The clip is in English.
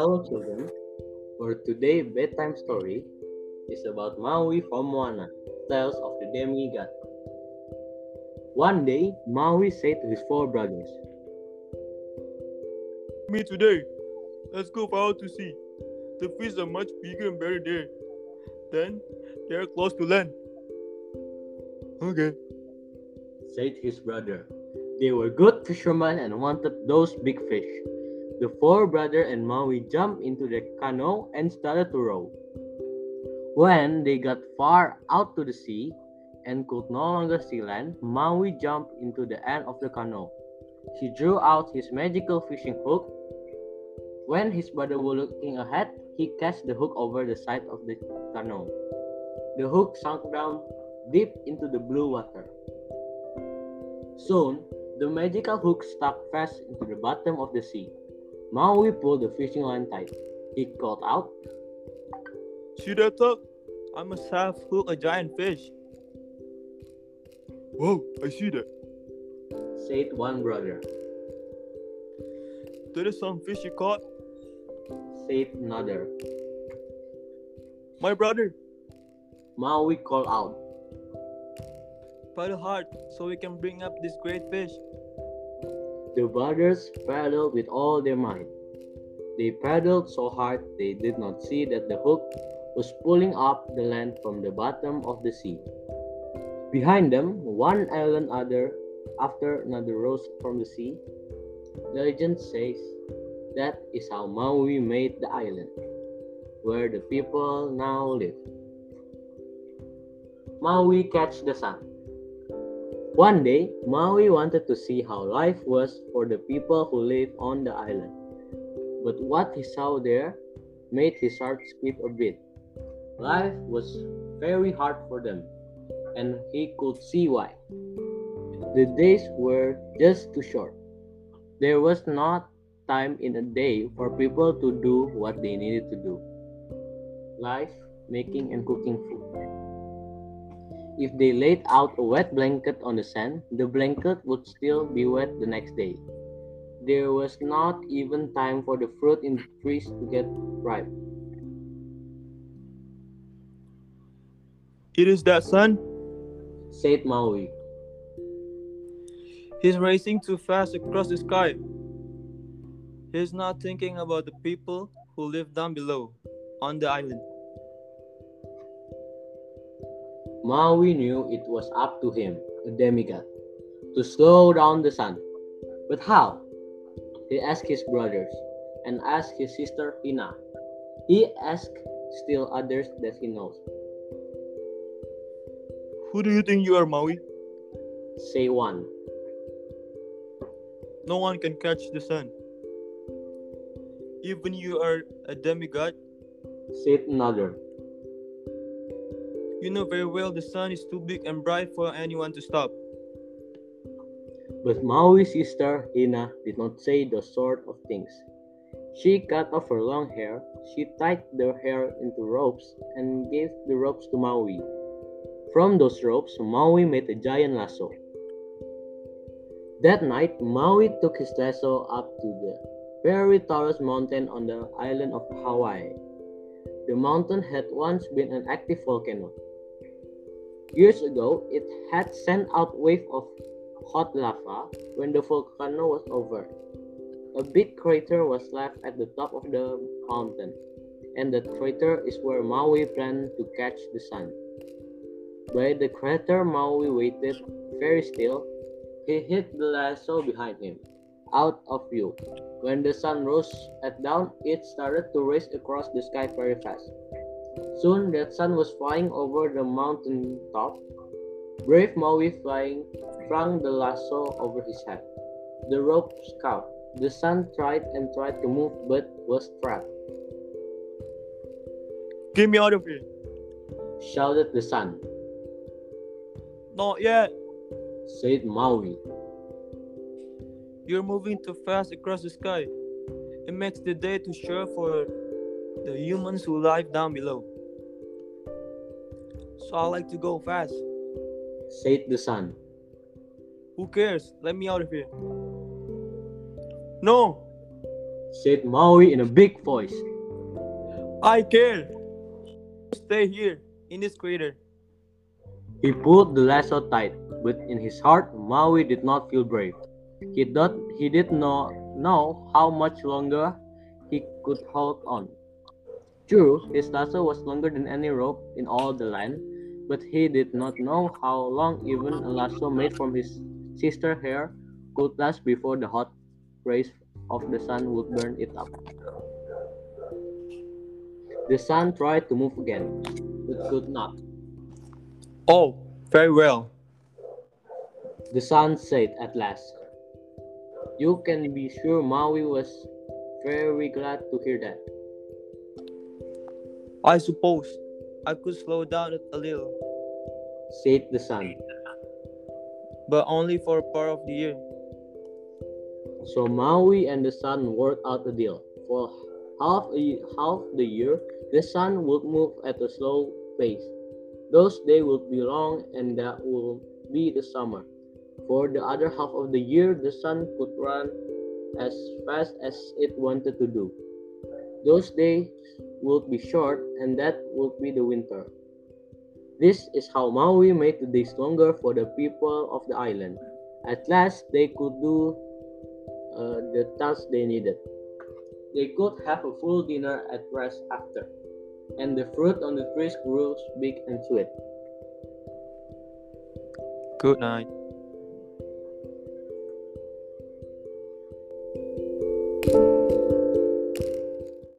Hello children, for today bedtime story is about Maui from Moana, Tales of the Demigod. One day, Maui said to his four brothers, Me today. Let's go out to sea. The fish are much bigger and better there. Then they are close to land. Okay. said his brother. They were good fishermen and wanted those big fish. The four brothers and Maui jumped into the canoe and started to row. When they got far out to the sea and could no longer see land, Maui jumped into the end of the canoe. He drew out his magical fishing hook. When his brother was looking ahead, he cast the hook over the side of the canoe. The hook sank down deep into the blue water. Soon, the magical hook stuck fast into the bottom of the sea. Maui pulled the fishing line tight. He called out, See that tuck? I must have hooked a giant fish. Wow, I see that. said one brother, There is some fish you caught. said another. My brother, Maui called out, paddle hard so we can bring up this great fish. The brothers paddled with all their might. They paddled so hard they did not see that the hook was pulling up the land from the bottom of the sea. Behind them, one island after another rose from the sea. Legend says that is how Maui made the island, where the people now live. Maui catch the sun. One day, Maui wanted to see how life was for the people who live on the island. But what he saw there made his heart skip a bit. Life was very hard for them, and he could see why. The days were just too short. There was not time in a day for people to do what they needed to do. Life, making and cooking food. If they laid out a wet blanket on the sand, the blanket would still be wet the next day. There was not even time for the fruit in the trees to get ripe, It is that sun. said Maui. He's racing too fast across the sky. He's not thinking about the people who live down below, on the island. Maui knew it was up to him, a demigod, to slow down the sun. But how? He asked his brothers and asked his sister Hina. He asked still others that he knows. Who do you think you are, Maui? Say one, No one can catch the sun. Even you are a demigod. said another. You know very well the sun is too big and bright for anyone to stop. But Maui's sister Hina did not say those sort of things. She cut off her long hair, she tied the hair into ropes and gave the ropes to Maui. From those ropes, Maui made a giant lasso. That night, Maui took his lasso up to the very tallest mountain on the island of Hawaii. The mountain had once been an active volcano. Years ago, it had sent out waves of hot lava when the volcano was over. A big crater was left at the top of the mountain, and that crater is where Maui planned to catch the sun. By the crater, Maui waited very still. He hid the lasso behind him, out of view. When the sun rose at dawn, it started to race across the sky very fast. Soon that sun was flying over the mountain top. Brave Maui flung the lasso over his head. The rope caught. The sun tried and tried to move but was trapped. Get me out of here. Shouted the sun, Not yet. said Maui. You're moving too fast across the sky. It makes the day too short for the humans who live down below. So I like to go fast. Said the sun. Who cares? Let me out of here. No, said Maui in a big voice. I care. Stay here in this crater. He pulled the lasso tight, but in his heart, Maui did not feel brave. He did not know how much longer he could hold on. True, his lasso was longer than any rope in all the land, but he did not know how long even a lasso made from his sister's hair could last before the hot rays of the sun would burn it up. The sun tried to move again, but could not. Oh, very well. The sun said at last. You can be sure Maui was very glad to hear that. I suppose I could slow down a little, Said the sun. but only for a part of the year. So Maui and the sun worked out a deal. For half the year, the sun would move at a slow pace. Those days would be long, and that would be the summer. For the other half of the year, the sun could run as fast as it wanted to do. Those days would be short, and that would be the winter. This is how Maui made the days longer for the people of the island. At last, they could do the task they needed. They could have a full dinner at rest after, and the fruit on the trees grew big and sweet. Good night.